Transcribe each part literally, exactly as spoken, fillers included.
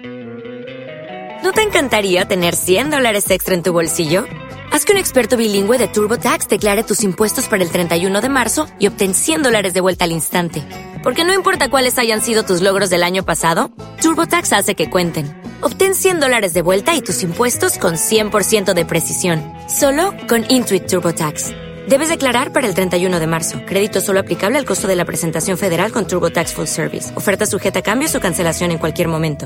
¿No te encantaría tener cien dólares extra en tu bolsillo? Haz que un experto bilingüe de TurboTax declare tus impuestos para el treinta y uno de marzo y obtén cien dólares de vuelta al instante. Porque no importa cuáles hayan sido tus logros del año pasado, TurboTax hace que cuenten. Obtén cien dólares de vuelta y tus impuestos con cien por ciento de precisión. Solo con Intuit TurboTax. Debes declarar para el treinta y uno de marzo. Crédito solo aplicable al costo de la presentación federal con TurboTax Full Service. Oferta sujeta a cambios o cancelación en cualquier momento.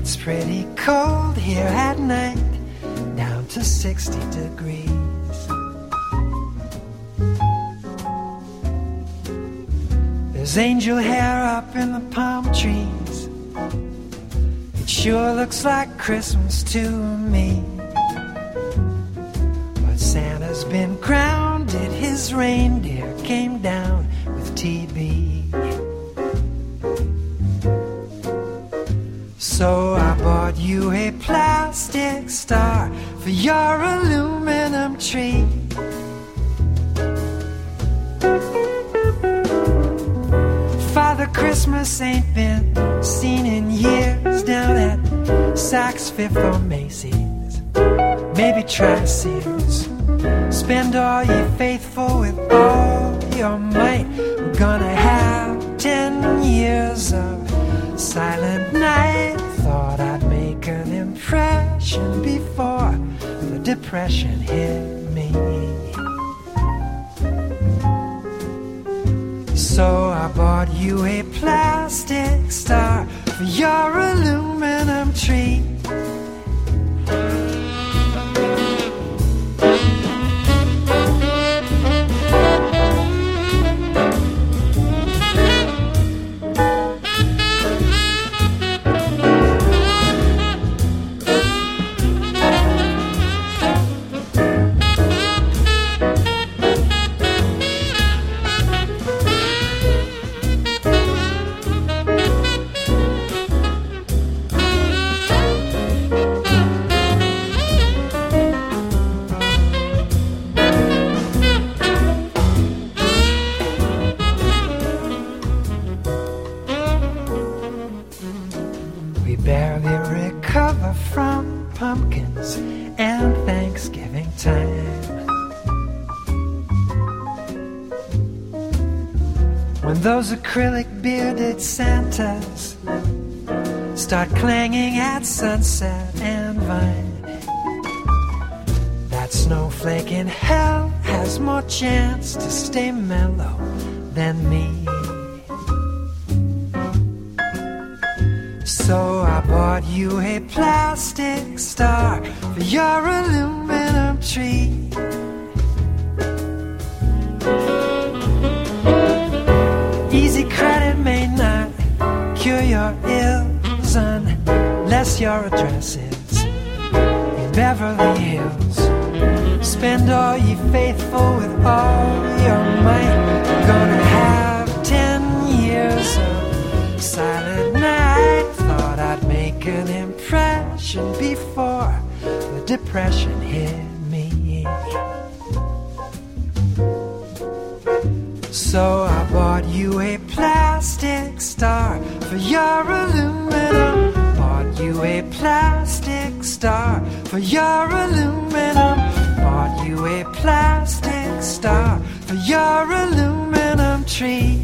gets pretty cold here at night, down to sixty degrees. There's angel hair up in the palm trees. It sure looks like Christmas to me. But Santa's been grounded, his reindeer came down with T B. So I bought you a plastic star for your aluminum tree. Father Christmas ain't been seen in years down at Saks Fifth or Macy's. Maybe try Sears. Spend all ye faithful with all your might. We're gonna have ten years of silent night. Thought I'd make an impression before the depression hit me. So I bought you a plastic star for your aluminum tree. Those acrylic bearded Santas start clanging at Sunset and Vine. That snowflake in hell has more chance to stay mellow than me. So I bought you a plastic star for your aluminum tree. Easy credit may not cure your ills unless your address is in Beverly Hills. Spend all ye faithful with all your might. We're gonna have ten years of silent night. Thought I'd make an impression before the depression hit me. So I bought you a plastic star for your aluminum. Bought you a plastic star for your aluminum. Bought you a plastic star for your aluminum tree.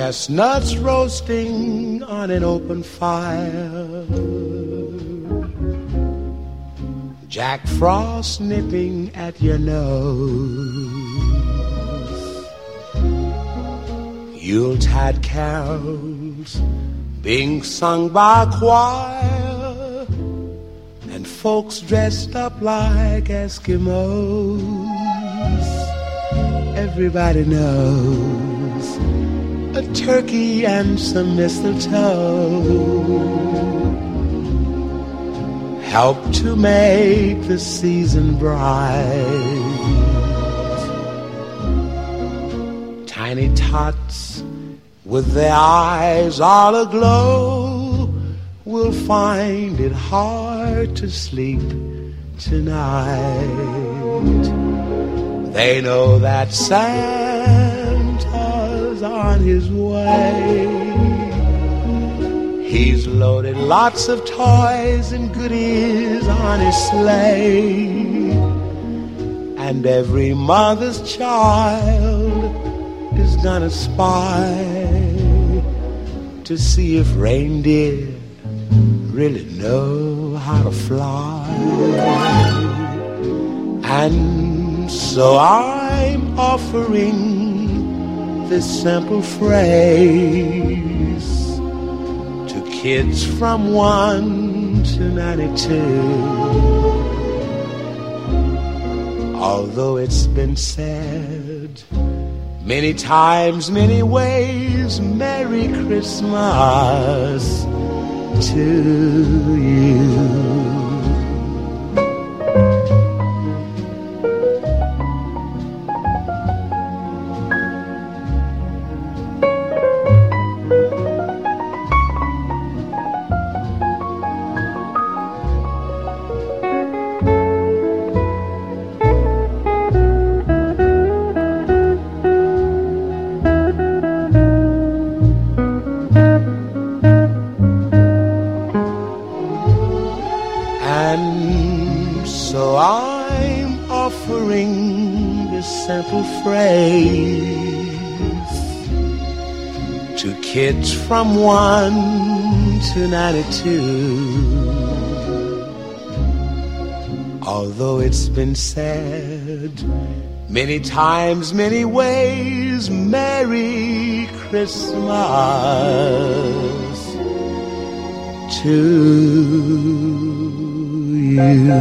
chestnuts roasting on an open fire, Jack Frost nipping at your nose, Yuletide carols being sung by a choir, and folks dressed up like Eskimos. Everybody knows a turkey and some mistletoe help to make the season bright. Tiny tots with their eyes all aglow will find it hard to sleep tonight. They know that Santa's on his way. He's loaded lots of toys and goodies on his sleigh, and every mother's child is gonna spy to see if reindeer really know how to fly. And so I'm offering this simple phrase to kids from one to ninety-two. Although it's been said many times, many ways, Merry Christmas to you. Kids from one to ninety-two. Although it's been said many times, many ways, Merry Christmas to you.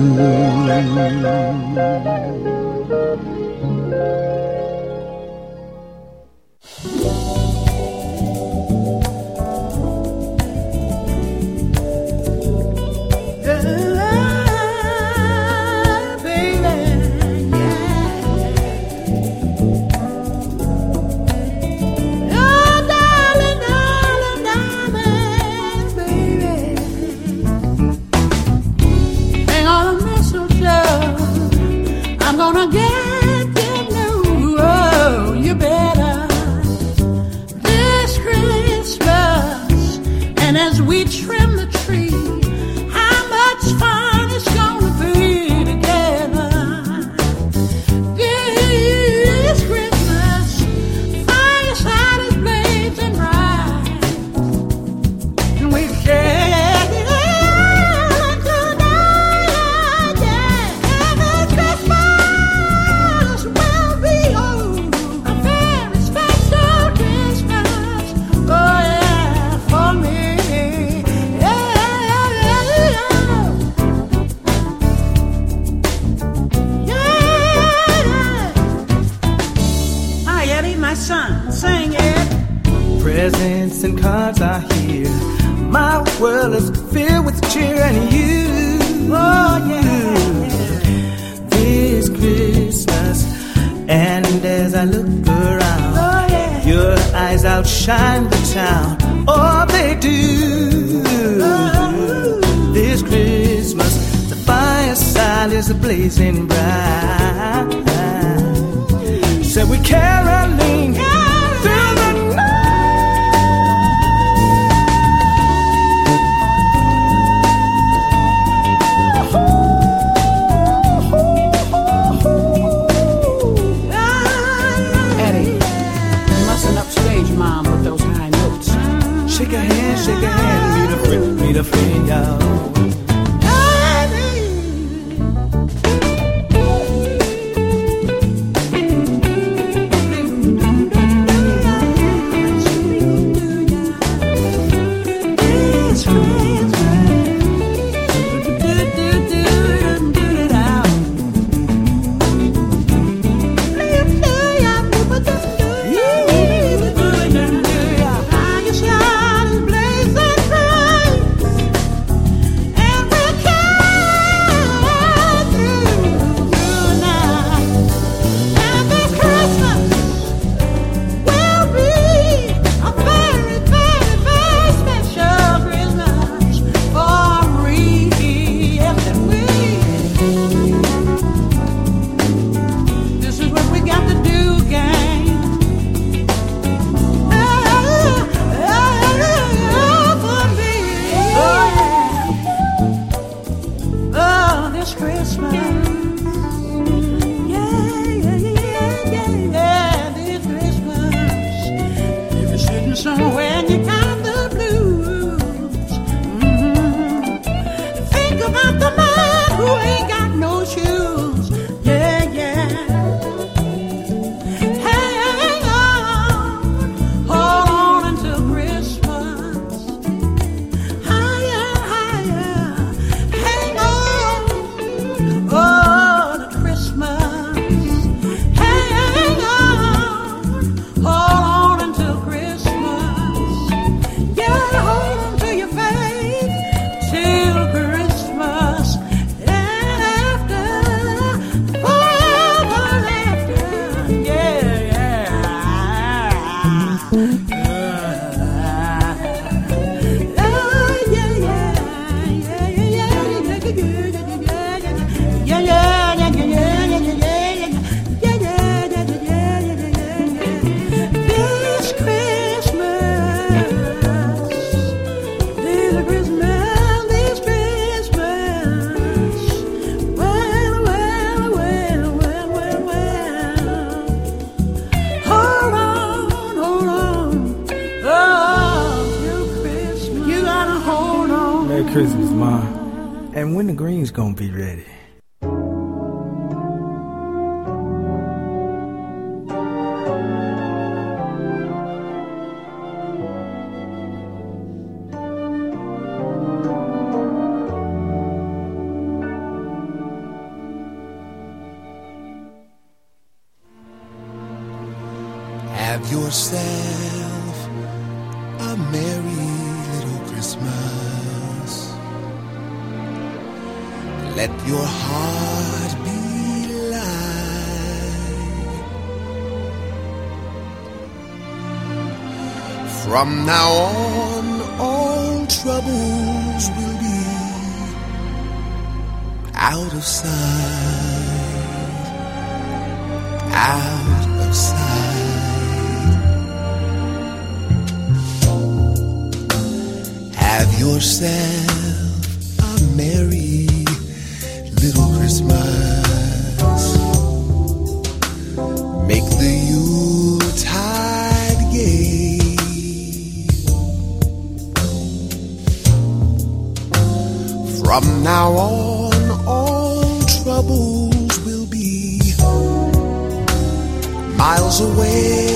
Mom with those high Christmas, Ma. And when the green's gonna be ready? Have yourself a merry little Christmas. Let your heart be light. From now on, all troubles will be out of sight, out of sight. Have yourself a merry little Christmas. Make the Yuletide gay. From now on, all troubles will be miles away.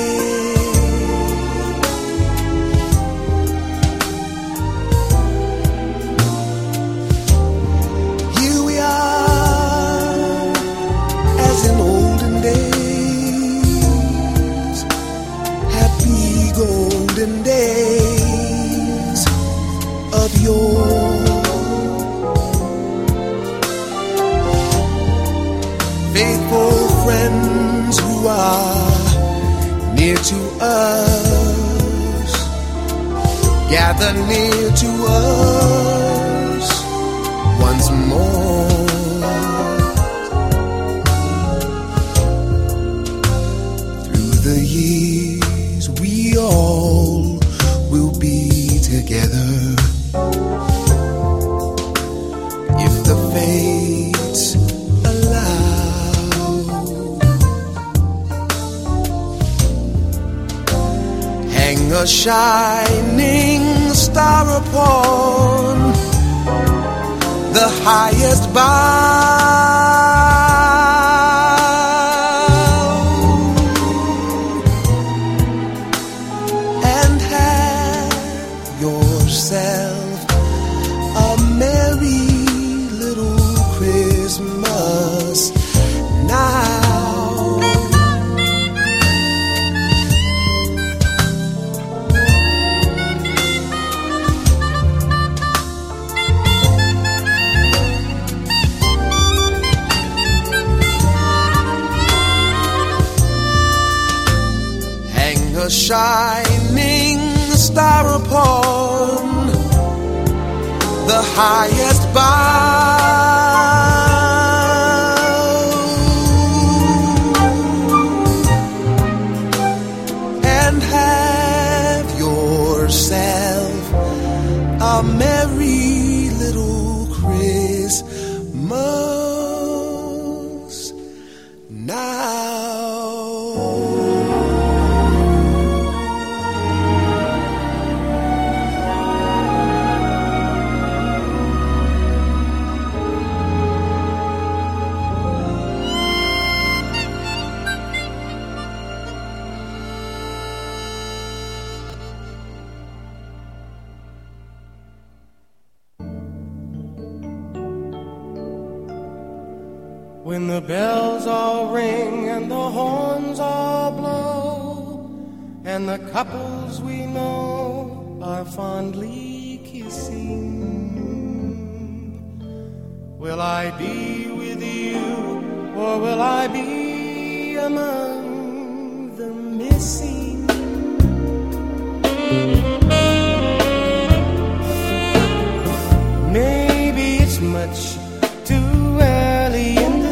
Days of yore, faithful friends who are near to us, gather near to us once more. Through the years we all will be together, if the fates allow. Hang a shining star upon highest bough and have yourself a merry little Christmas now. A shining star upon the highest bough and have yourself a merry little Christmas now. When the bells all ring and the horns all blow, and the couples we know are fondly kissing, will I be with you, or will I be among the missing? Maybe it's much too early in the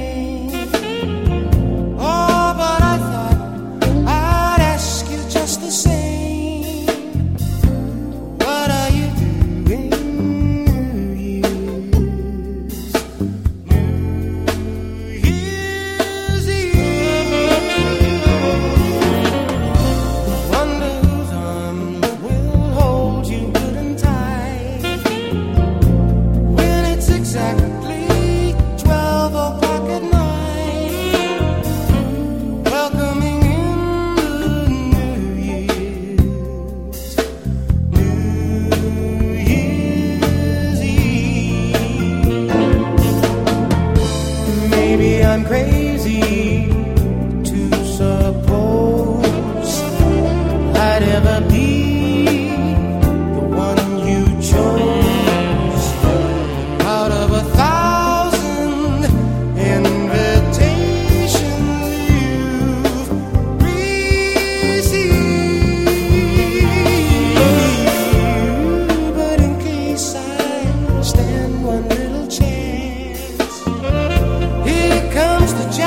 I'm crazy to suppose I'd ever be the one you chose out of a thousand invitations you've received. But in case I stand one little chance, comes the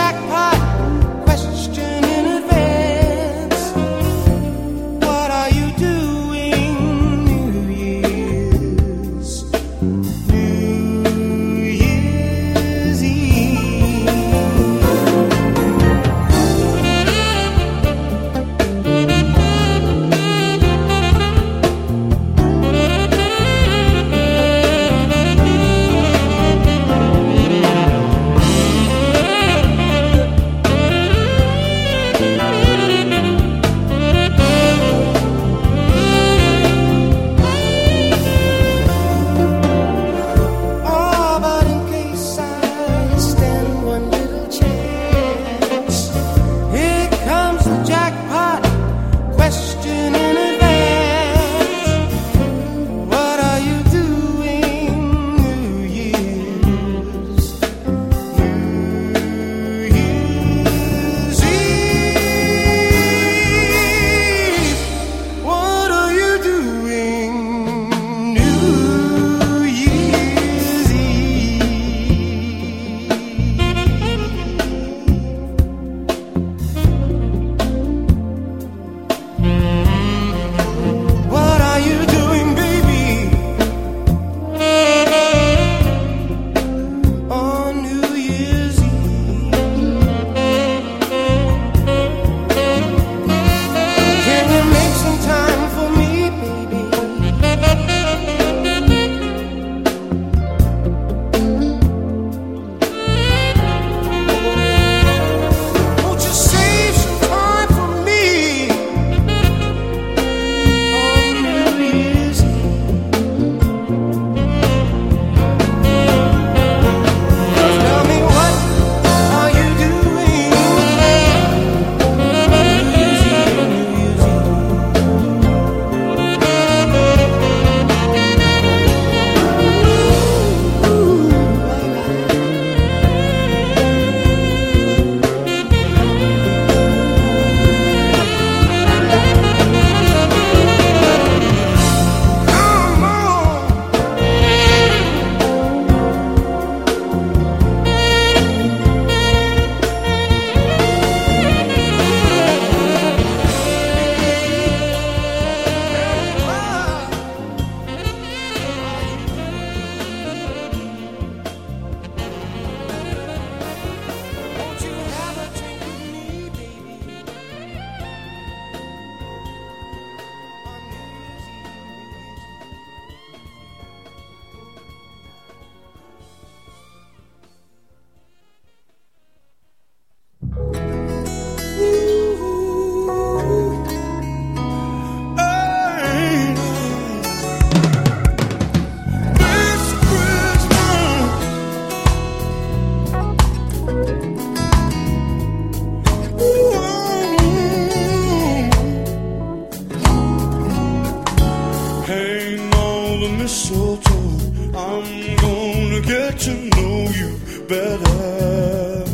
I'm gonna get to know you better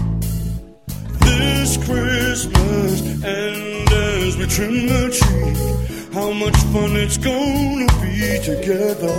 this Christmas. And as we trim the tree, how much fun it's gonna be together.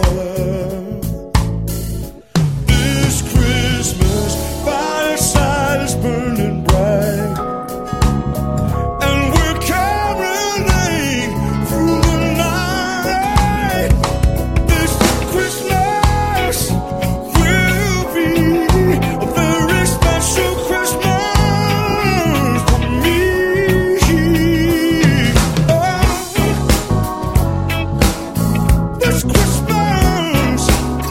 This Christmas, fireside is burning bright, and we're caroling through the night. This Christmas will be a very special Christmas for me. Oh, this Christmas,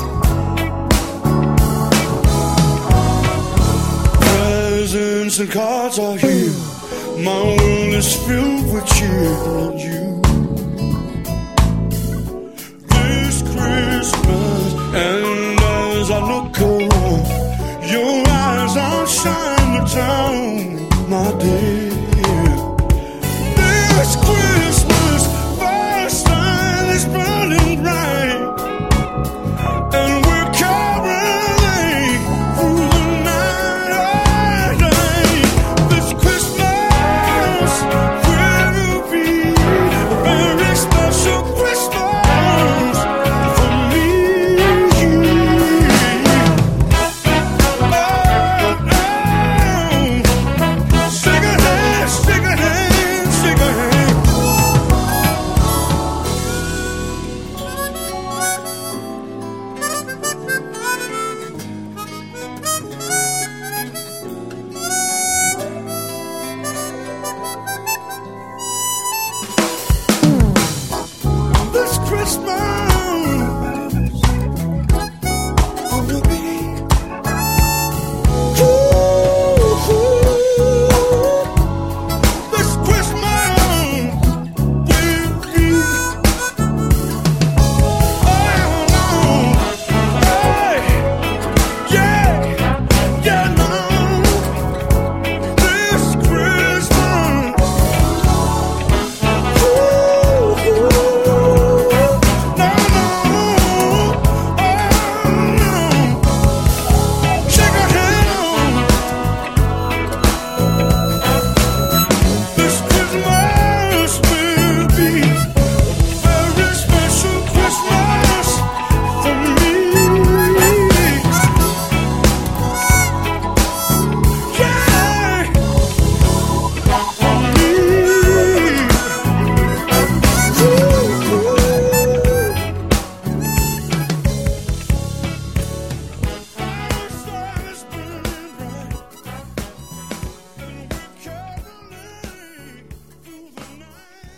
presents and cards are here. My world is filled with cheer on you. This Christmas, and as I look around, your eyes outshine the town, my dear. This Christmas, fireside is burning bright, and we're caroling through the night. This Christmas will be a very special Christmas for me. Oh, oh. Sing a hand, sing a hand, sing a hand. This Christmas will be ooh, this Christmas will be oh no, hey, yeah, yeah, no, this Christmas. Ooh, no, no, oh no, shake a hand. This Christmas will be a very special Christmas for me. Yeah, for me. Ooh. Fireside is burning bright, and we're caroling through the night.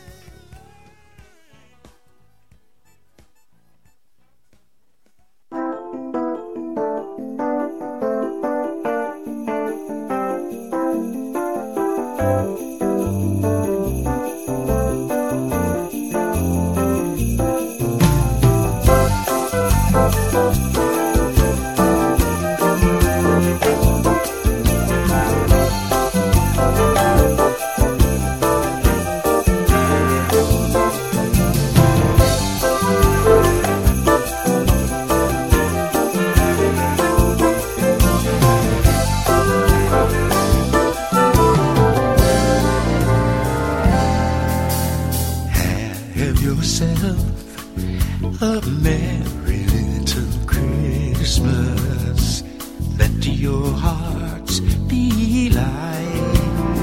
Have yourself a merry little Christmas. Let your hearts be light.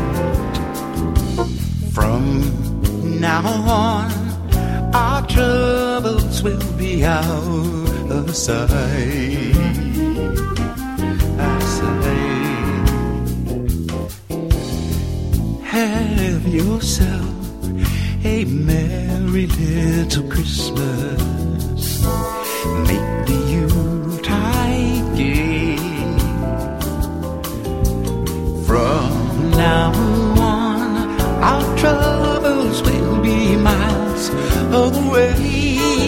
From now on, our troubles will be out of sight. I say, have yourself a merry little Christmas. Make the Yuletide gay. From now on, our troubles will be miles away.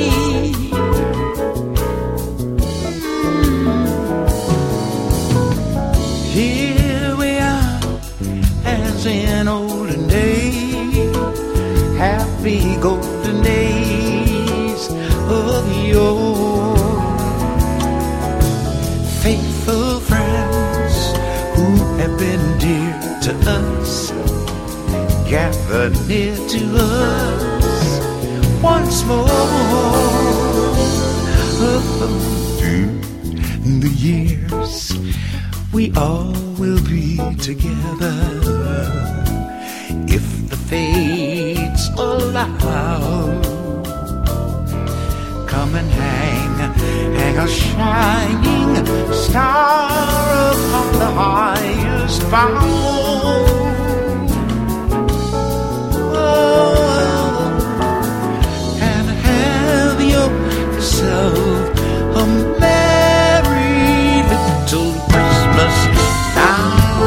Here we are, as in olden days, happy golden days of yore. us, gathered near to us once more. Through the years, we all will be together if the fates allow. Come and hang, hang a shining star upon the highest bough. Yourself a merry little Christmas now.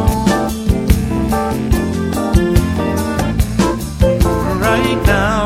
Right now.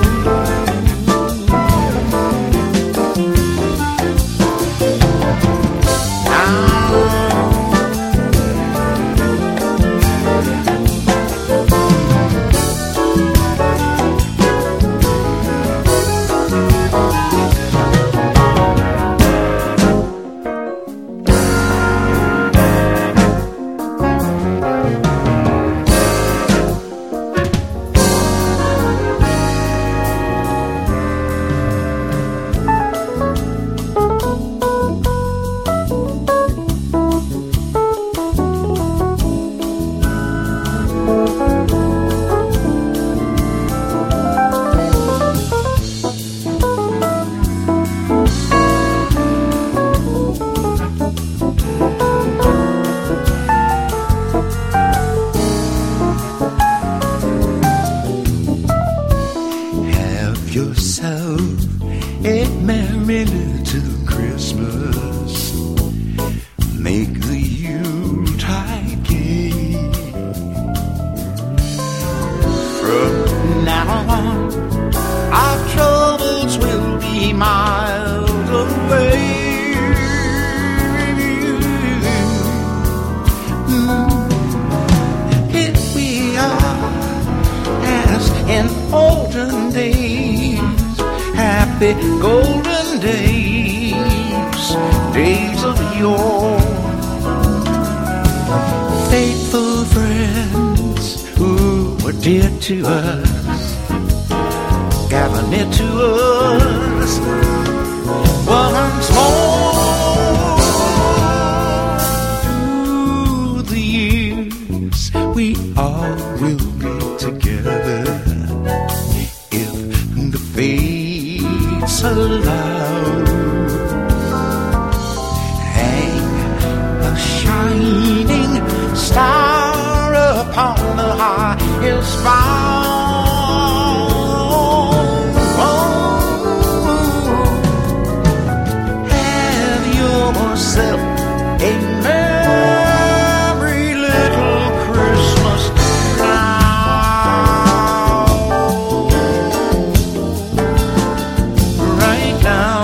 Golden days, days of yore. Faithful friends who were dear to us, gather near to us once more. Through the years, we all will be together if the fates allow. Hang a shining star upon the highest bough. Have yourself a merry little Christmas now. Right now.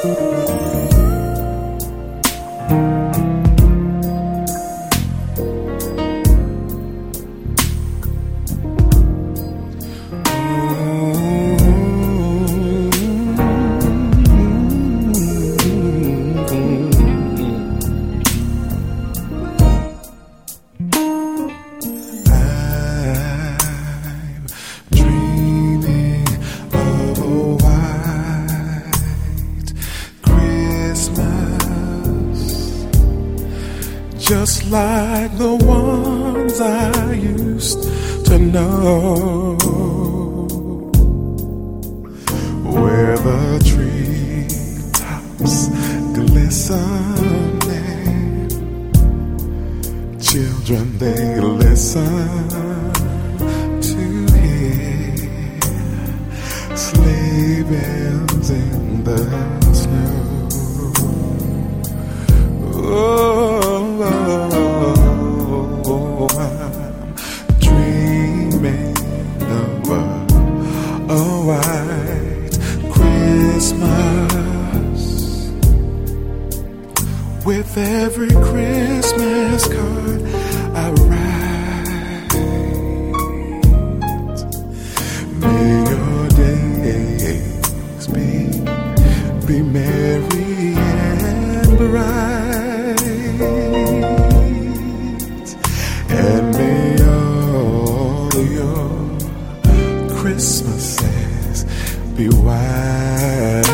Just like the ones I used to know, where the treetops glistening, children they listen to hear sleigh bells in the snow. Oh, Oh, I'm dreaming of a, a white Christmas, with every Christmas card I write. May your days be, be merry and bright. And may all your Christmases be white.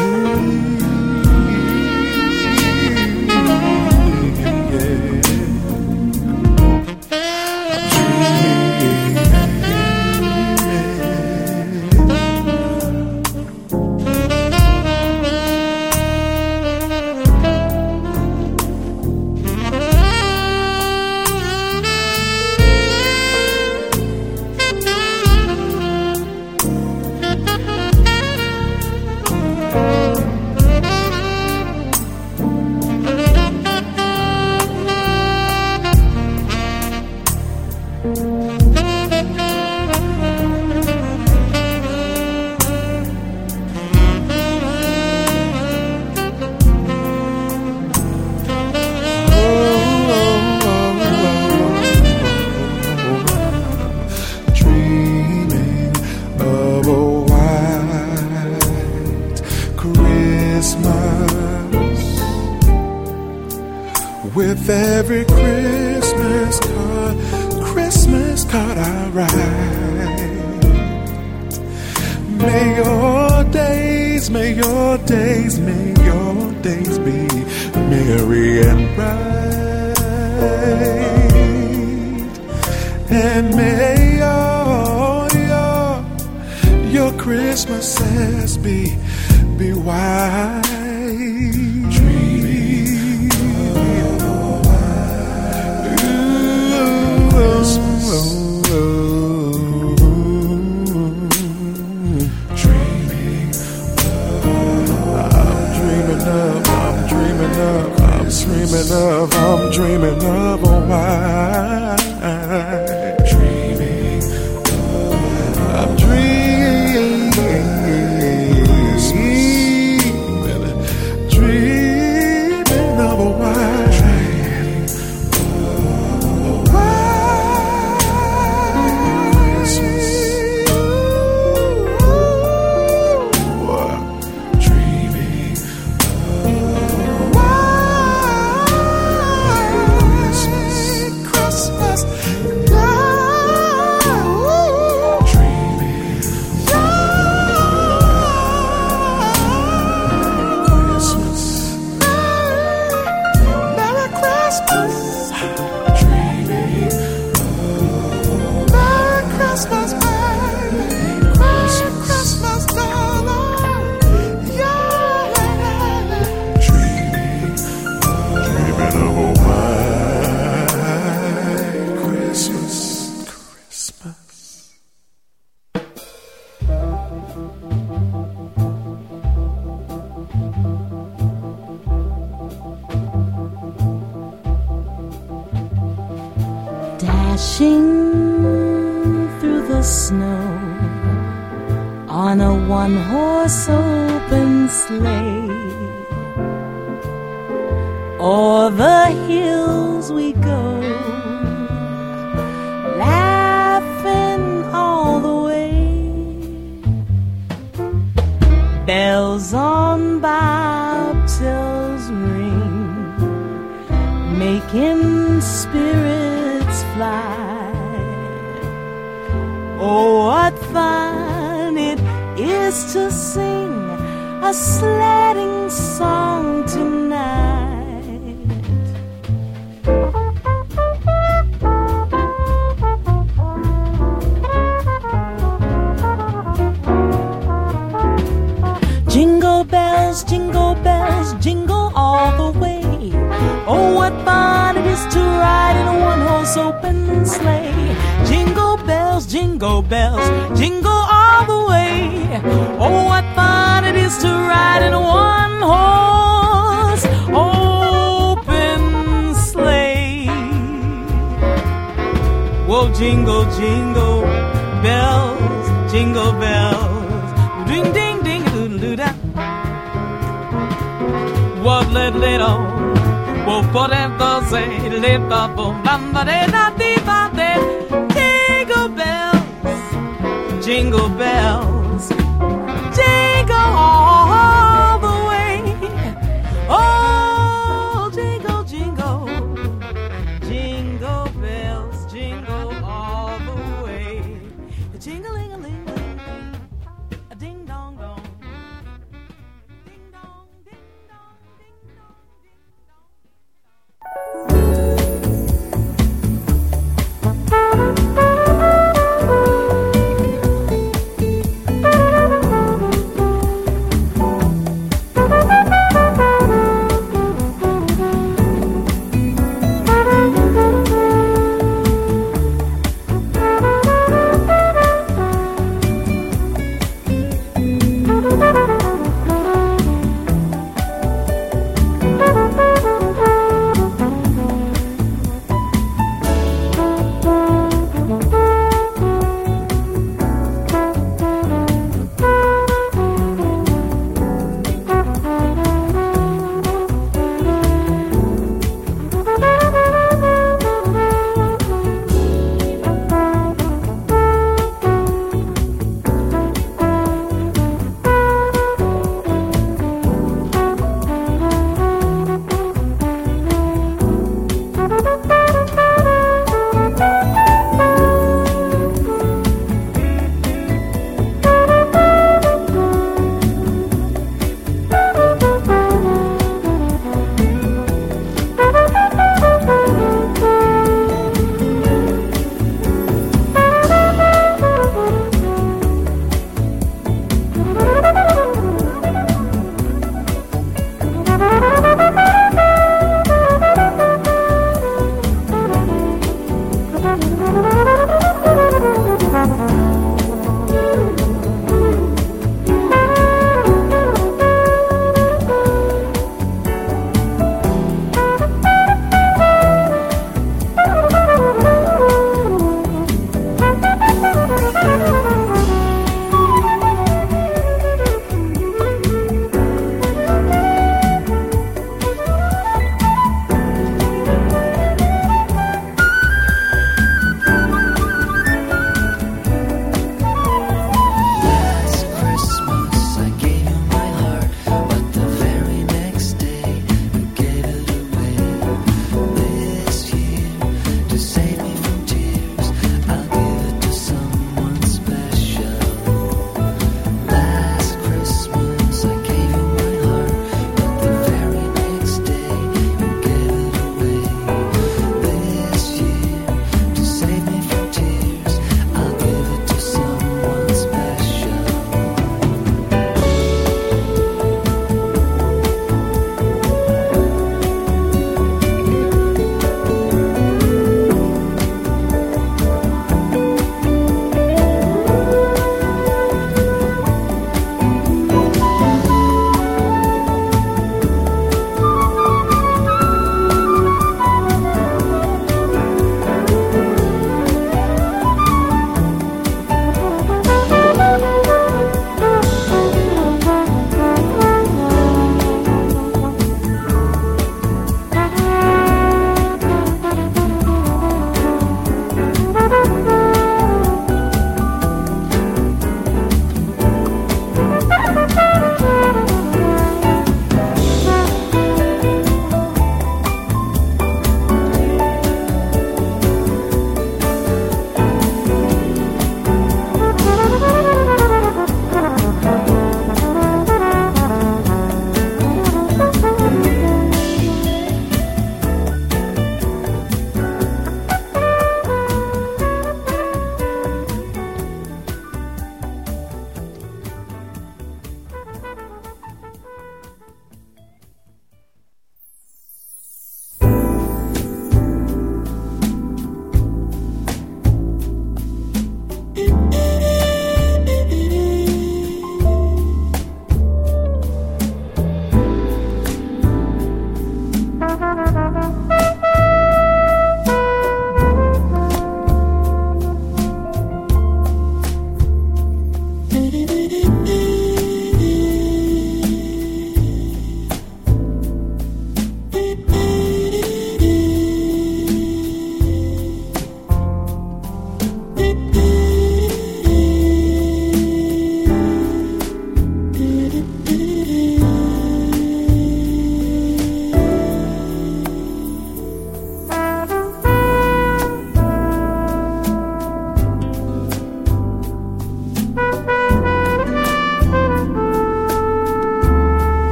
With every Christmas card, Christmas card I write. May your days, may your days, may your days be merry and bright. And may all your, your Christmases be, be white. Dreaming of, I'm dreaming of a white. Dreaming of, I'm dreaming, dreaming of a white. Dashing through the snow on a one-horse open sleigh, o'er the hills we go, laughing all the way. Bells on bobtails ring, making spirits fly. Oh, what fun it is to sing a sledding song tonight. Jingle bells, jingle bells, jingle all the way. Oh, what fun it is to ride in a one-horse open sleigh. Jingle bells, jingle bells, jingle all the way. Oh, what fun it is to ride in a one-horse open sleigh. Whoa, jingle, jingle bells, jingle bells, ding, ding, ding, doo-doo-da. What let little, whoa, whatever say, live up, bamba, de, da, di, ba, de. Jingle bells, jingle bells, jingle all the way. Oh, jingle, jingle, jingle bells, jingle all the way. Jingle-ling-a-ling-ling, a ding-dong-dong. Ding-dong, ding-dong, ding-dong, ding-dong.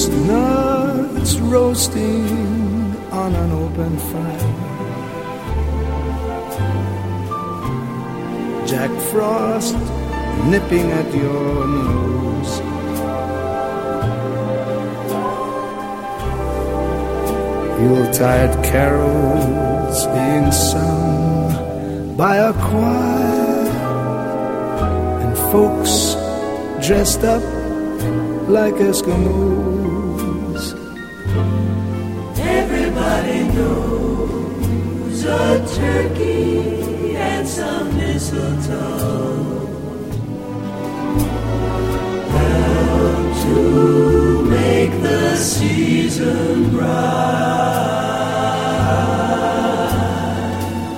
chestnuts roasting on an open fire, Jack Frost nipping at your nose, Yuletide carols being sung by a choir, and folks dressed up like Eskimos. Everybody knows a turkey and some mistletoe help to make the season bright.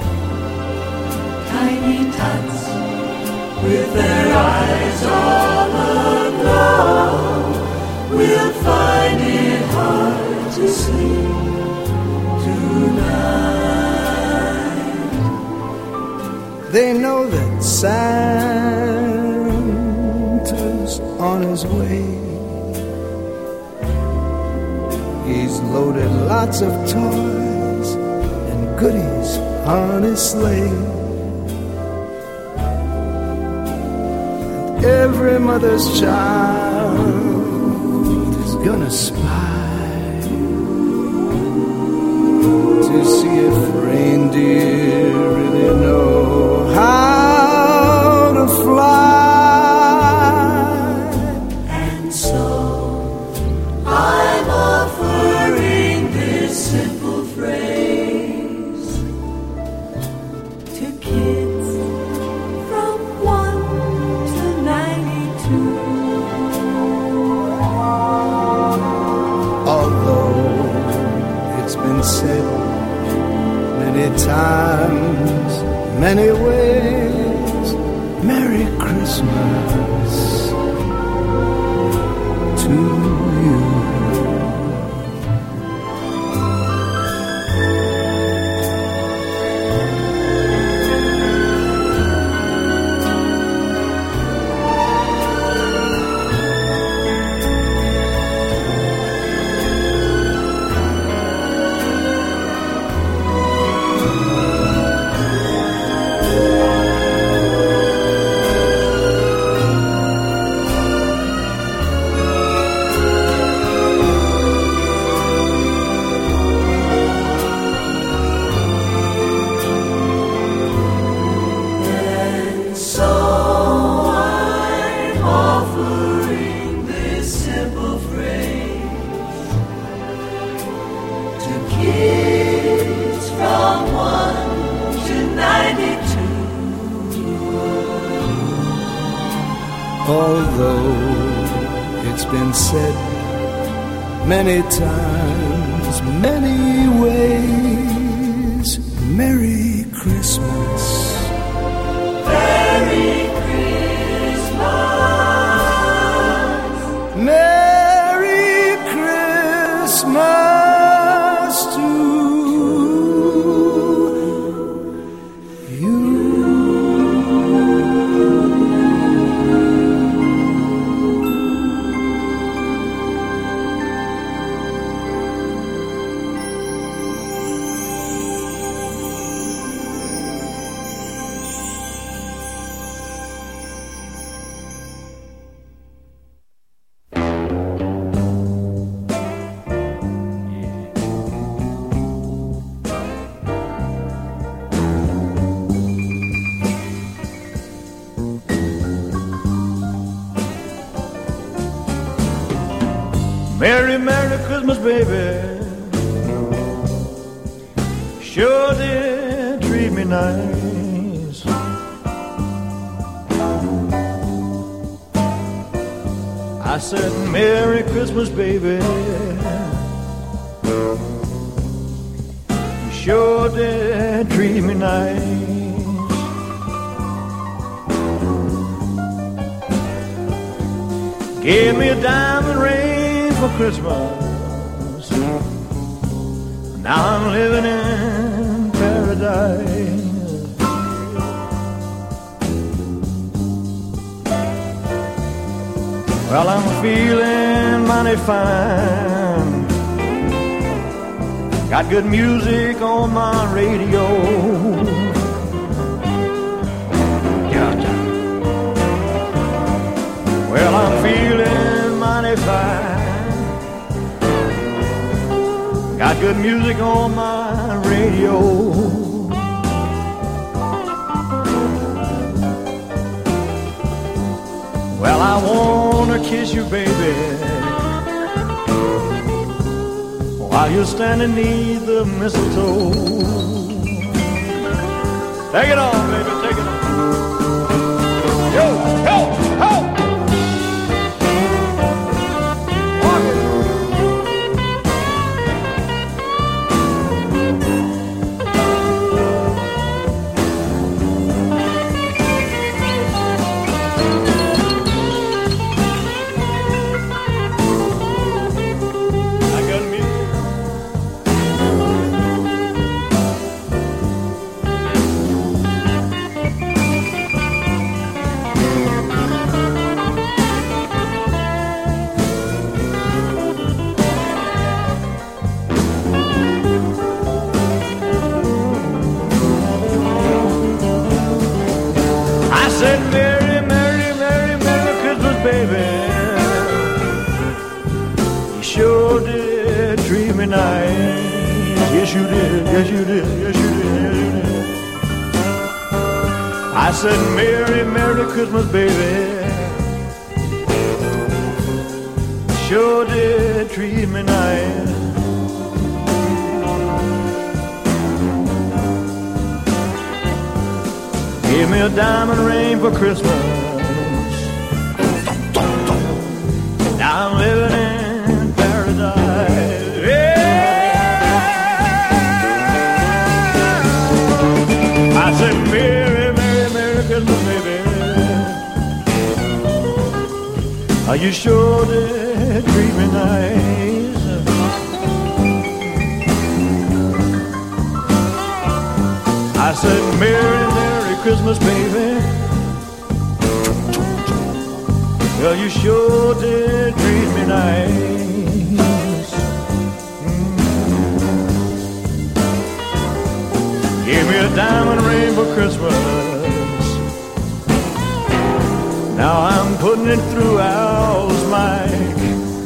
Tiny tots with their eyes all aglow will find it hard to sleep tonight. They know that Santa's on his way. He's loaded lots of toys and goodies on his sleigh. And every mother's child is gonna spy to see if reindeer really know how to fly. And so I'm offering this simple phrase to kids from one to ninety-two. Although it's been said many times, many ways, Merry Christmas to you. Although it's been said many times, many ways, Merry Christmas. Merry Christmas. Merry Christmas to you. Merry, Merry Christmas, baby. Sure did treat me nice. I said, Merry Christmas, baby. You sure did treat me nice. Gave me a diamond ring for Christmas. Now I'm living in paradise. Well, I'm feeling mighty fine. Got good music on my radio. Well, I'm feeling mighty fine. Got good music on my radio. Well, I wanna kiss you, baby, while you're standing neath the mistletoe. Take it on, baby, take it on. Yo, yo, yo! Yes, you did, yes, you did, yes, you did, yes, you did. I said, Merry, Merry Christmas, baby. Sure did treat me nice. Gave me a diamond ring for Christmas. Now I'm living in paradise. I said, Merry, Merry, Merry Christmas, baby. Oh, you sure did treat me nice. I said, Merry, Merry Christmas, baby. Well, you sure did treat me nice. Give me a diamond ring for Christmas. Now I'm putting it through Al's mic.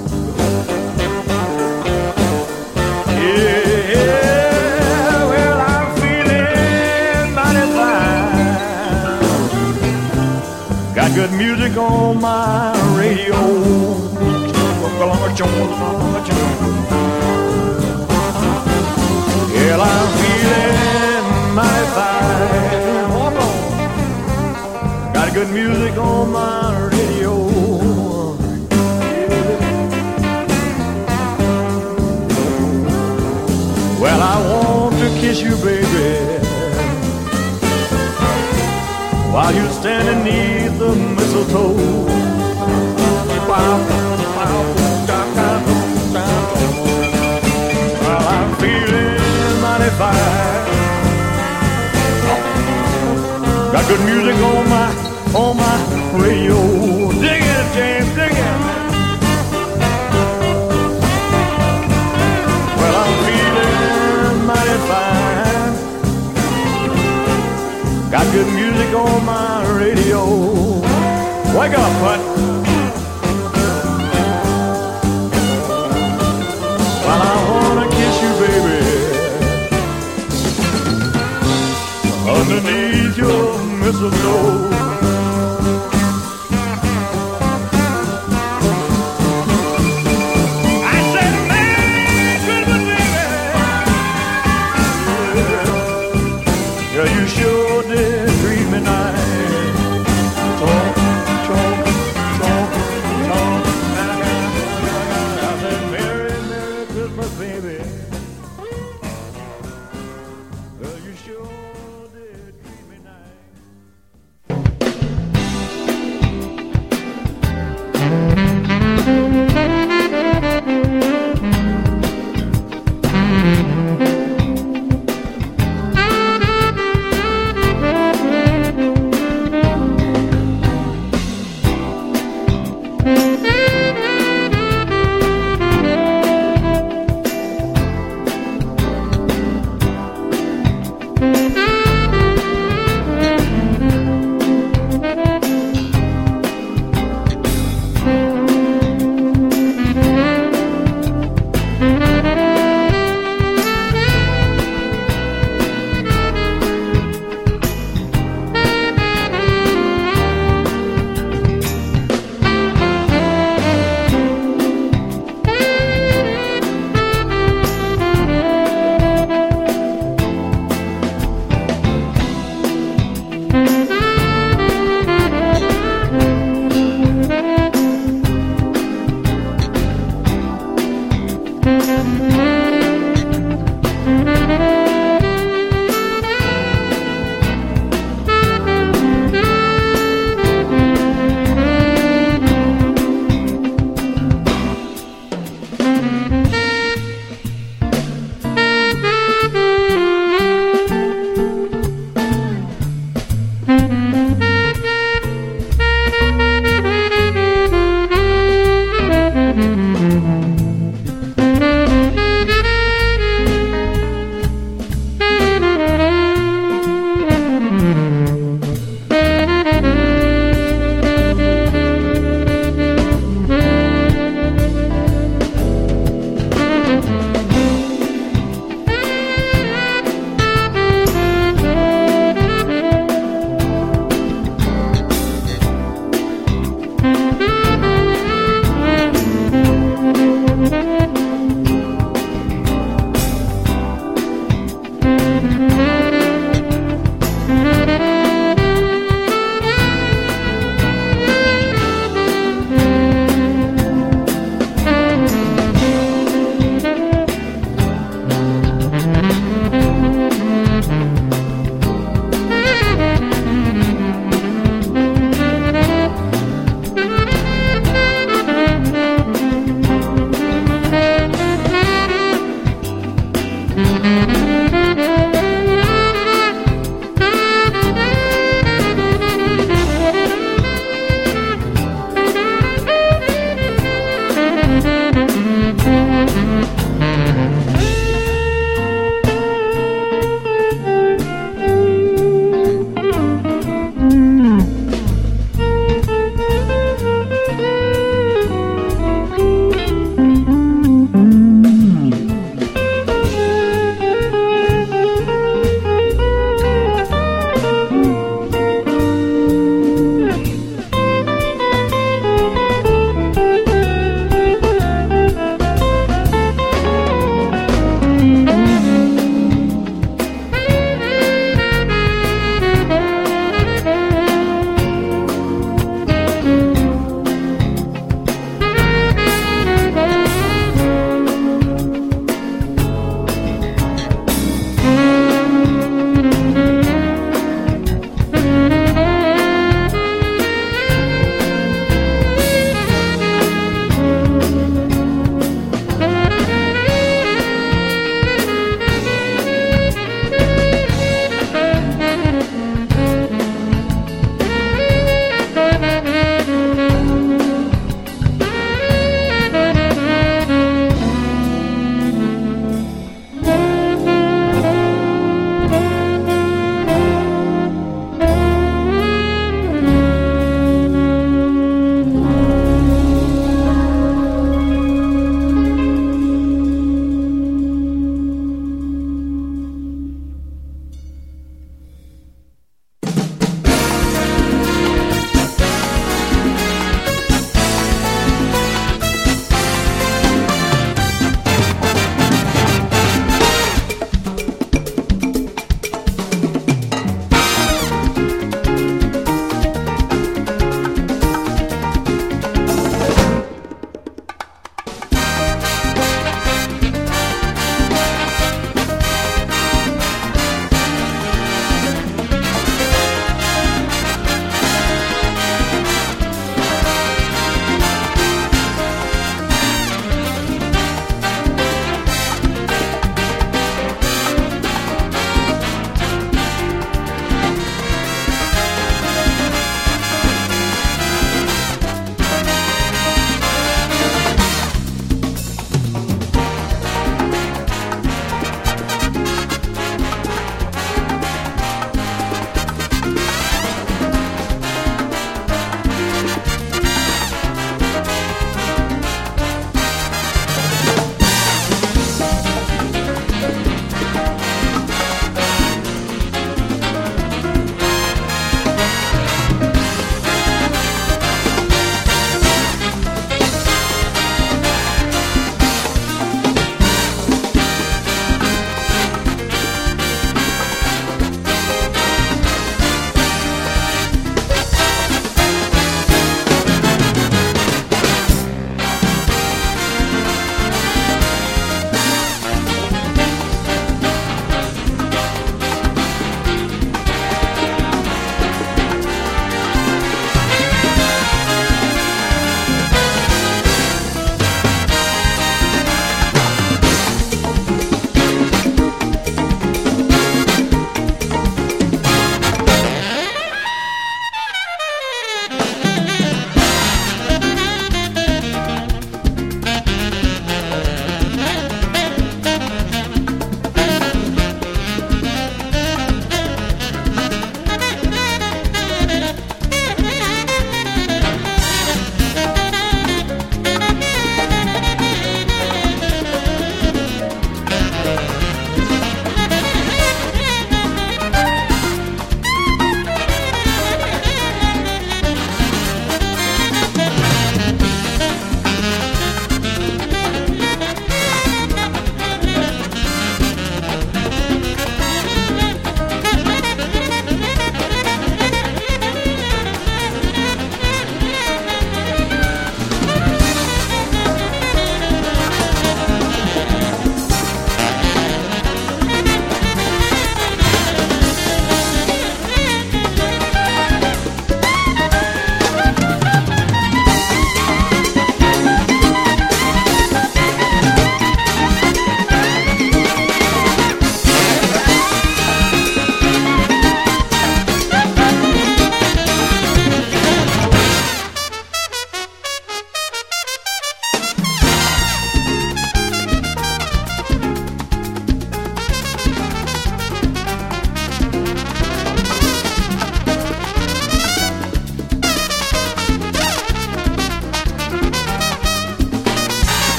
Yeah, well, I'm feeling mighty fine. Got good music on my radio. Yeah, I'm feeling mighty fine. Walk on. Got good music on my radio. Well, I want to kiss you, baby, while you're standing neath the mistletoe. Well, I'm feeling mighty fine. Got good music on my, on my radio. Dig it, James, dig it. Well, I'm feeling mighty fine. Got good music on my radio. Wake up, bud. Well, I wanna kiss you, baby, underneath your mistletoe. I said, Merry Christmas, baby. Yeah, yeah, you sure did treat me nice. Talk, talk, talk, talk. I said, Merry, Merry Christmas, baby. Well, you sure did treat me nice.